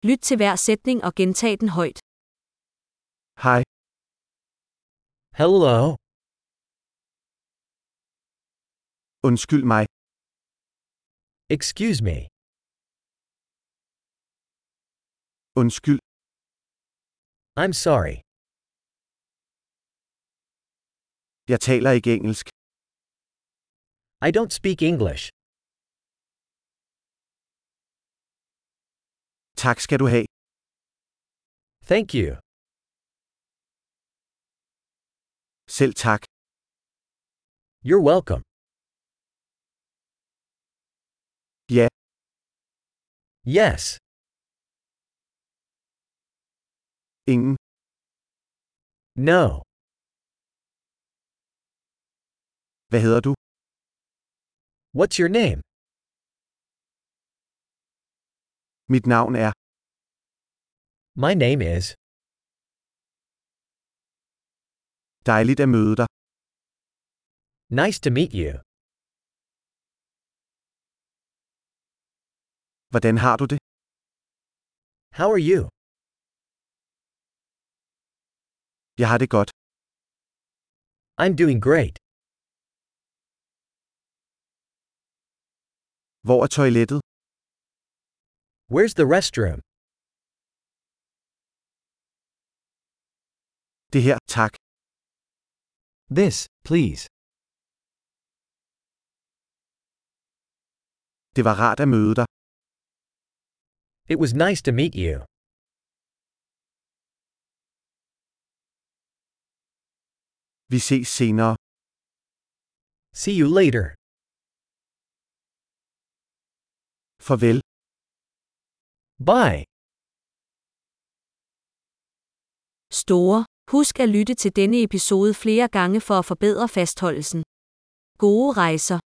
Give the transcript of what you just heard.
Lyt til hver sætning og gentag den højt. Hej. Hello. Undskyld mig. Excuse me. Undskyld. I'm sorry. Jeg taler ikke engelsk. I don't speak English. Tak skal du have. Thank you. Selv tak. You're welcome. Ja. Yes. Ingen. No. Hvad hedder du? What's your name? Mit navn er. My name is. Dejligt at møde dig. Nice to meet you. Hvordan har du det? How are you? Jeg har det godt. I'm doing great. Hvor er toilettet? Where's the restroom? Det her, tak. This, please. Det var rart at møde dig. It was nice to meet you. Vi ses senere. See you later. Farvel. Bye. Store. Husk at lytte til denne episode flere gange for at forbedre fastholdelsen. Gode rejser.